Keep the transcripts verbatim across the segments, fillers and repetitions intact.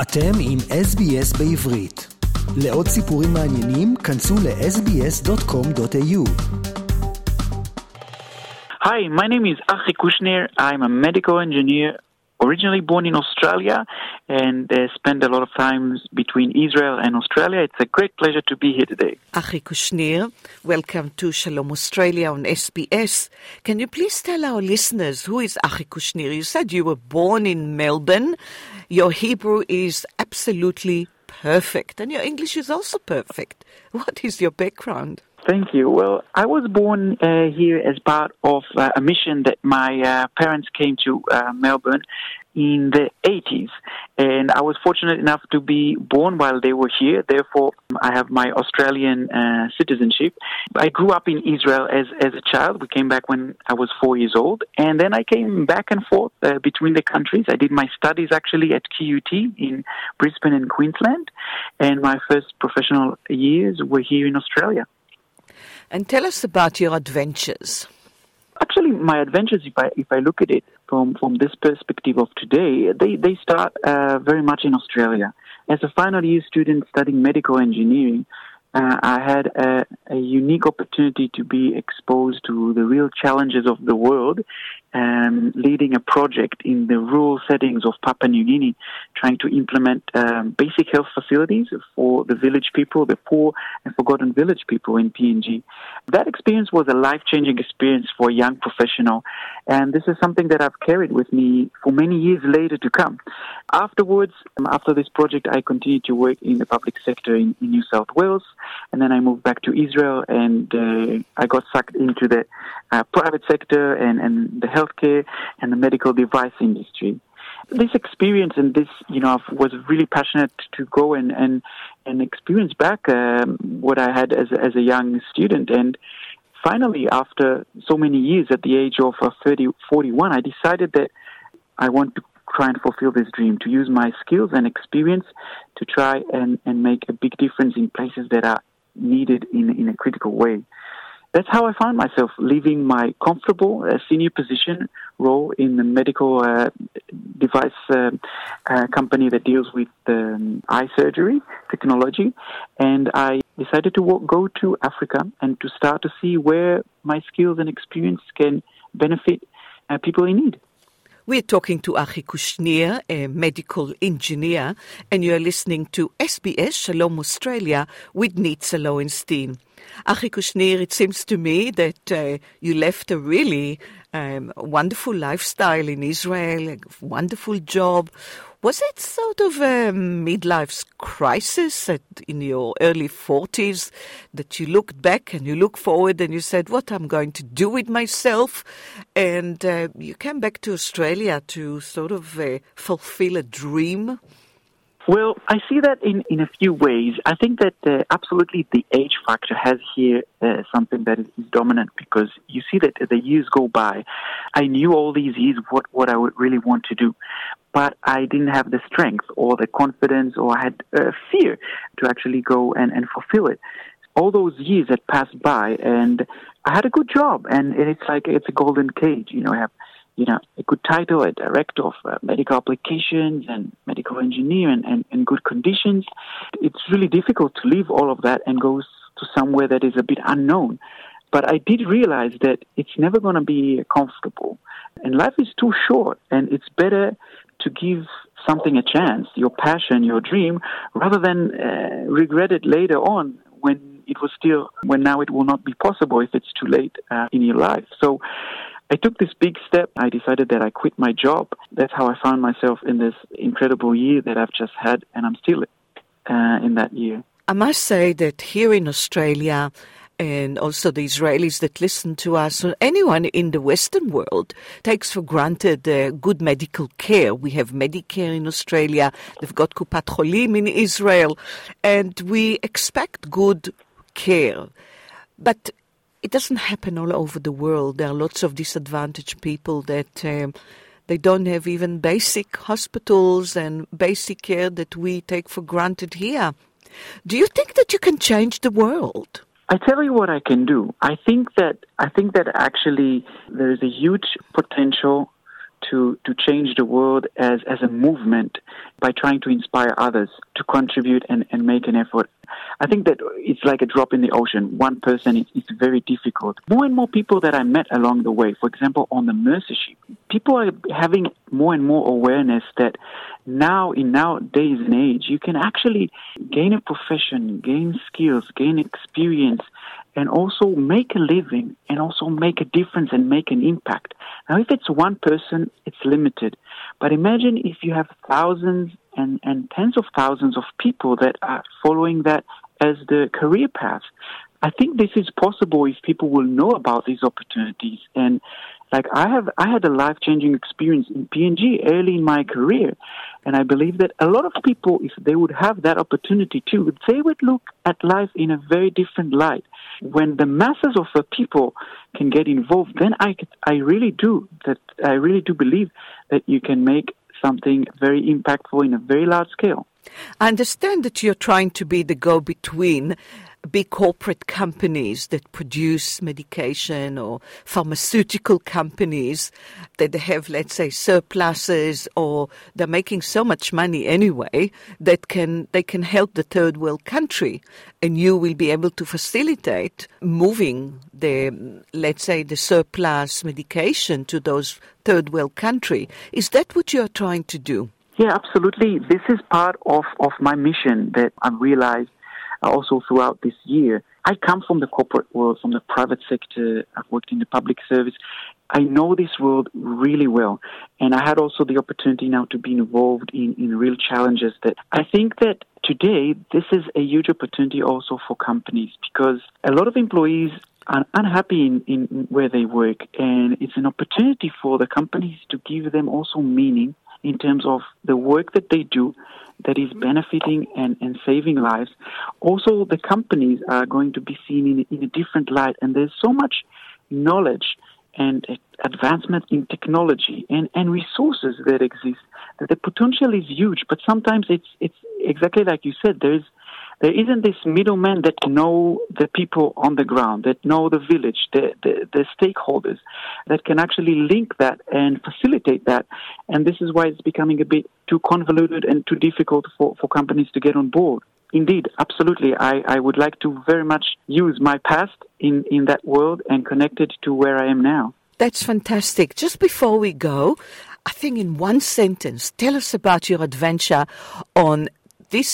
אתם עם אס בי אס בעברית. לעוד סיפורים מעניינים, כנסו ל-אס בי אס דוט קום דוט איי יו. Hi, my name is Achi Kushner. I'm a medical engineer, originally born in Australia, and uh, spent a lot of time between Israel and Australia. It's a great pleasure to be here today. Achi Kushner, welcome to Shalom Australia on S B S. Can you please tell our listeners who is Achi Kushner? You said you were born in Melbourne. Your Hebrew is absolutely perfect, and your English is also perfect. What is your background? Thank you. Well, I was born uh, here as part of uh, a mission that my uh, parents came to uh, Melbourne in the eighties. And I was fortunate enough to be born while they were here. Therefore, I have my Australian uh, citizenship. I grew up in Israel as, as a child. We came back when I was four years old. And then I came back and forth uh, between the countries. I did my studies actually at Q U T in Brisbane and Queensland. And my first professional years were here in Australia. And tell us about your adventures. Actually, my adventures, if I if I look at it from, from this perspective of today, they, they start uh, very much in Australia. As a final year student studying medical engineering, uh, I had a, a unique opportunity to be exposed to the real challenges of the world, um, leading a project in the rural settings of Papua New Guinea, trying to implement um, basic health facilities for the village people, the poor and forgotten village people in P N G. That experience was a life-changing experience for a young professional, and this is something that I've carried with me for many years later to come. Afterwards, after this project, I continued to work in the public sector in, in New South Wales, and then I moved back to Israel, and uh, I got sucked into the uh, private sector and, and the healthcare and the medical device industry. This experience and this, you know, I was really passionate to go and, and, and experience back um, what I had as, as a young student. And finally, after so many years, at the age of uh, thirty, forty-one, I decided that I want to try and fulfill this dream, to use my skills and experience to try and, and make a big difference in places that are needed in, in a critical way. That's how I found myself leaving my comfortable uh, senior position role in the medical uh, device uh, uh, company that deals with um, eye surgery technology. And I decided to walk, go to Africa and to start to see where my skills and experience can benefit uh, people in need. We're talking to Achi Kushner, a medical engineer, and you're listening to S B S Shalom Australia with Nitza Lowenstein. Achi Kushner, it seems to me that uh, you left a really um, wonderful lifestyle in Israel, a wonderful job. Was it sort of a midlife crisis at, in your early forties that you looked back and you look forward and you said, what I'm going to do with myself? And uh, you came back to Australia to sort of uh, fulfill a dream? Well, I see that in, in a few ways. I think that uh, absolutely the age factor has here uh, something that is dominant, because you see that the years go by. I knew all these years what, what I would really want to do, but I didn't have the strength or the confidence, or I had uh, fear to actually go and, and fulfill it. All those years had passed by, and I had a good job, and it's like it's a golden cage. You know, I have you know, a good title, a director of uh, medical applications and medical engineer and, and, and good conditions. It's really difficult to leave all of that and go to somewhere that is a bit unknown. But I did realize that it's never going to be comfortable. And life is too short, and it's better to give something a chance, your passion, your dream, rather than uh, regret it later on when it was still, when now it will not be possible if it's too late uh, in your life. So I took this big step. I decided that I quit my job. That's how I found myself in this incredible year that I've just had, and I'm still uh, in that year. I must say that here in Australia, and also the Israelis that listen to us, or anyone in the Western world, takes for granted uh, good medical care. We have Medicare in Australia, they've got Kupat Cholim in Israel, and we expect good care. But it doesn't happen all over the world. There are lots of disadvantaged people that um, they don't have even basic hospitals and basic care that we take for granted here. Do you think that you can change the world? I tell you what I can do. I think that I think that actually there is a huge potential to, to change the world as, as a movement by trying to inspire others to contribute and, and make an effort. I think that it's like a drop in the ocean. One person, it's, it's very difficult. More and more people that I met along the way, for example, on the Mercy ship, people are having more and more awareness that now, in nowadays and age, you can actually gain a profession, gain skills, gain experience, and also make a living, and also make a difference and make an impact. Now, if it's one person, it's limited. But imagine if you have thousands and, and tens of thousands of people that are following that as the career path. I think this is possible if people will know about these opportunities. And like I have, I had a life-changing experience in P and G early in my career. And I believe that a lot of people, if they would have that opportunity too, they would look at life in a very different light. When the masses of the people can get involved, then I, I really do that. I really do believe that you can make something very impactful in a very large scale. I understand that you're trying to be the go-between big corporate companies that produce medication or pharmaceutical companies that have, let's say, surpluses, or they're making so much money anyway that can they can help the third world country, and you will be able to facilitate moving the, let's say, the surplus medication to those third world country. Is that what you're trying to do? Yeah, absolutely. This is part of, of my mission that I've realized also throughout this year. I come from the corporate world, from the private sector. I've worked in the public service. I know this world really well. And I had also the opportunity now to be involved in, in real challenges that I think that today this is a huge opportunity also for companies, because a lot of employees are unhappy in, in where they work. And it's an opportunity for the companies to give them also meaning in terms of the work that they do that is benefiting and, and saving lives. Also, the companies are going to be seen in, in a different light, and there's so much knowledge and advancement in technology and, and resources that exist that the potential is huge, but sometimes it's it's exactly like you said, there is There isn't this middleman that know the people on the ground, that know the village, the, the, the stakeholders, that can actually link that and facilitate that. And this is why it's becoming a bit too convoluted and too difficult for, for companies to get on board. Indeed, absolutely. I, I would like to very much use my past in, in that world and connect it to where I am now. That's fantastic. Just before we go, I think in one sentence, tell us about your adventure on this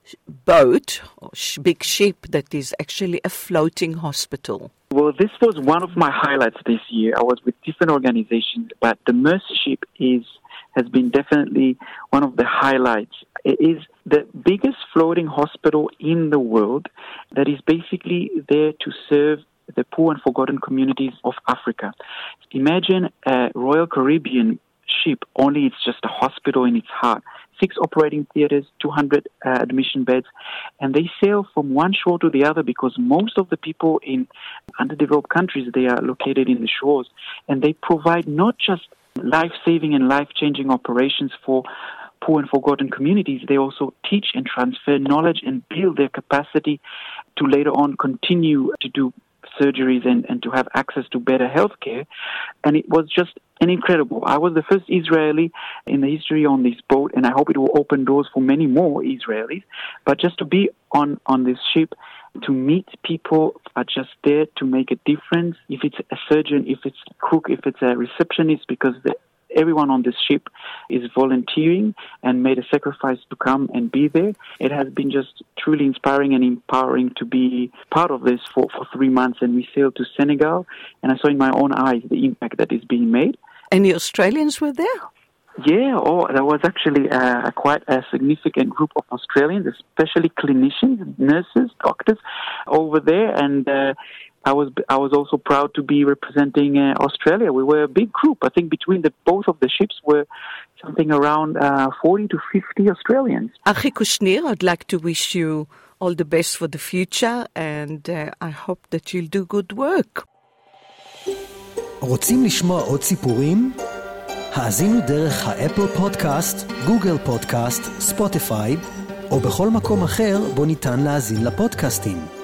boat or sh- big ship that is actually a floating hospital. Well, this was one of my highlights this year. I was with different organizations, but the Mercy ship is has been definitely one of the highlights. It is the biggest floating hospital in the world that is basically there to serve the poor and forgotten communities of Africa. Imagine a Royal Caribbean ship, only it's just a hospital in its heart. Six operating theaters, two hundred uh, admission beds, and they sail from one shore to the other because most of the people in underdeveloped countries, they are located in the shores, and they provide not just life-saving and life-changing operations for poor and forgotten communities, they also teach and transfer knowledge and build their capacity to later on continue to do surgeries and, and to have access to better health care. And it was just an incredible. I was the first Israeli in the history on this boat, and I hope it will open doors for many more Israelis. But just to be on, on this ship, to meet people are just there to make a difference. If it's a surgeon, if it's a cook, if it's a receptionist, because the everyone on this ship is volunteering and made a sacrifice to come and be there. It has been just truly inspiring and empowering to be part of this for, for three months. And we sailed to Senegal, and I saw in my own eyes the impact that is being made. Any Australians were there? Yeah, oh, there was actually uh, quite a significant group of Australians, especially clinicians, nurses, doctors over there, and uh, I was I was also proud to be representing uh, Australia. We were a big group. I think between the both of the ships were something around uh, forty to fifty Australians. Achi Kushnir, I'd like to wish you all the best for the future, and uh, I hope that you'll do good work. רוצים לשמוע עוד סיפורים? האזינו דרך האפל פודקאסט, גוגל פודקאסט, ספוטיפיי, או בכל מקום אחר בו ניתן להאזין לפודקאסטים.